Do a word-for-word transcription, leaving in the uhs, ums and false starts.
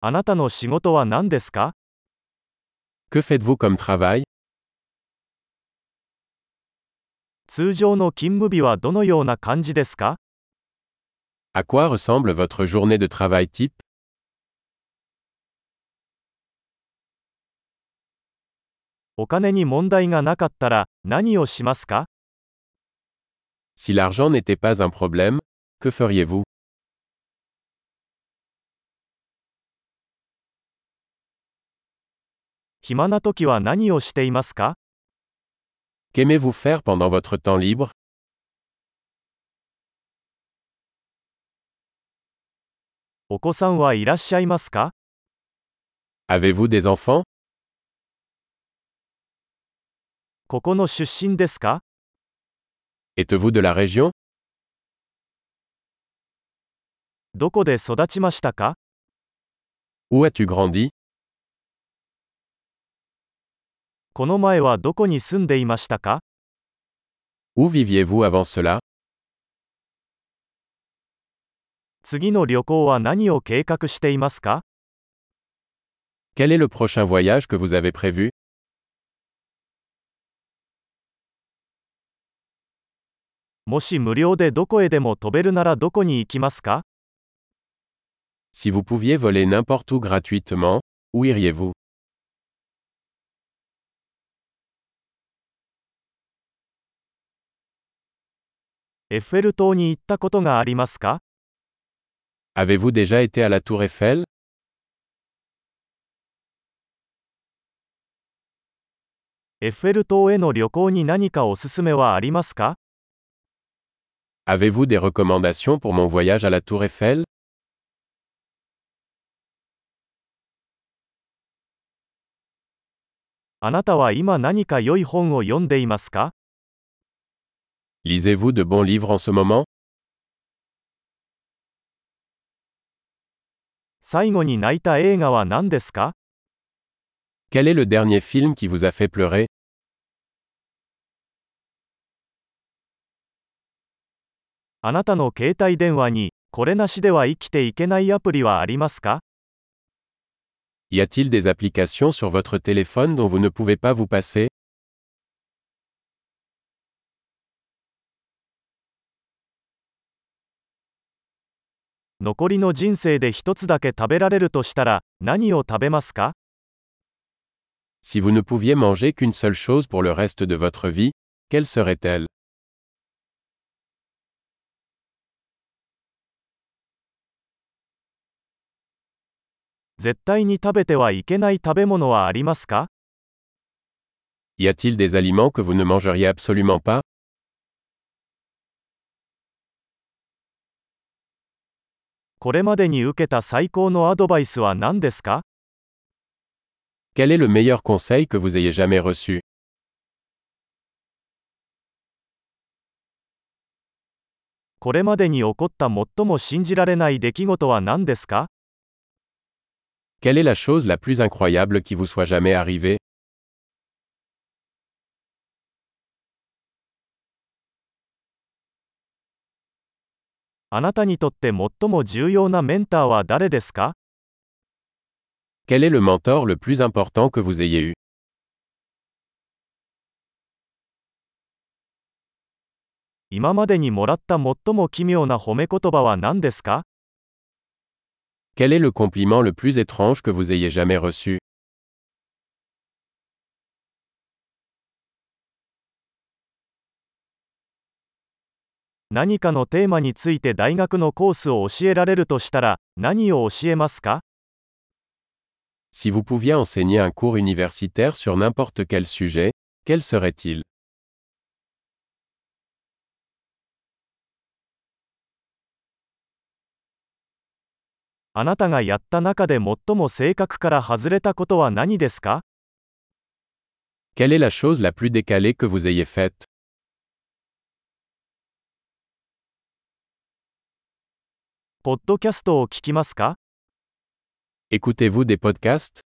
あなたの仕事は何ですか？ Que faites-vous comme travail? 通常の勤務日はどのような感じですか？ À quoi ressemble votre journée de travail type? お金に問題がなかったら何をしますか？ Si l'argent n'était pas un problème, que feriez-vous? 暇な時は何をしていますか？ Qu'aimez-vous faire pendant votre temps libre? お子さんはいらっしゃいますか？ Avez-vous des enfants? ここの出身ですか？ Êtes-vous de la région? どこで育ちましたか？ Où as-tu grandi? この前はどこに住んでいましたか？ Où viviez-vous avant cela? 次の旅行は何を計画していますか？ Quel est le prochain voyage que vous avez prévu? もし無料でどこへでも飛べるならどこに行きますか？ Si vous pouviez voler n'importe où gratuitement, où iriez-vous? エッフェル塔に行ったことがありますか？ Avez-vous déjà été à la Tour Eiffel? エッフェル塔への旅行に何かおすすめはありますか？ Avez-vous des recommandations pour mon voyage à la Tour Eiffel? あなたは今何か良い本を読んでいますか？ Lisez-vous de bons livres en ce moment? 最後に泣いた映画は何ですか？ Quel est le dernier film qui vous a fait pleurer? あなたの携帯電話にこれなしでは生きていけないアプリはありますか？ Y a-t-il des applications sur votre téléphone dont vous ne pouvez pas vous passer? 残りの人生で一つだけ食べられるとしたら何を食べますか？ Si vous ne pouviez manger qu'une seule chose pour le reste de votre vie, quelle serait-elle? 絶対に食べてはいけない食べ物はありますか？ Y a-t-il des aliments que vous ne mangeriez absolument pas? これまでに受けた最高のアドバイスは何ですか？ Quel est le meilleur conseil que vous ayez jamais reçu? これまでに起こった最も信じられない出来事は何ですか？ Quelle est la chose la plus incroyable qui vous soit jamais arrivée? あなたにとって最も重要なメンターは誰ですか？ Quel est le mentor le plus important que vous ayez eu? 今までにもらった最も奇妙な褒め言葉は何ですか？ Quel est le compliment le plus étrange que vous ayez jamais reçu? 何かのテーマについて大学のコースを教えられるとしたら何を教えますか？ Si vous pouviez enseigner un cours universitaire sur n'importe quel sujet, quel serait-il? あなたがやった中で最も性格から外れたことは何ですか？ Quelle est la chose la plus décalée que vous ayez faite? ポッドキャストを聞きますか？ Écoutez-vous des podcasts?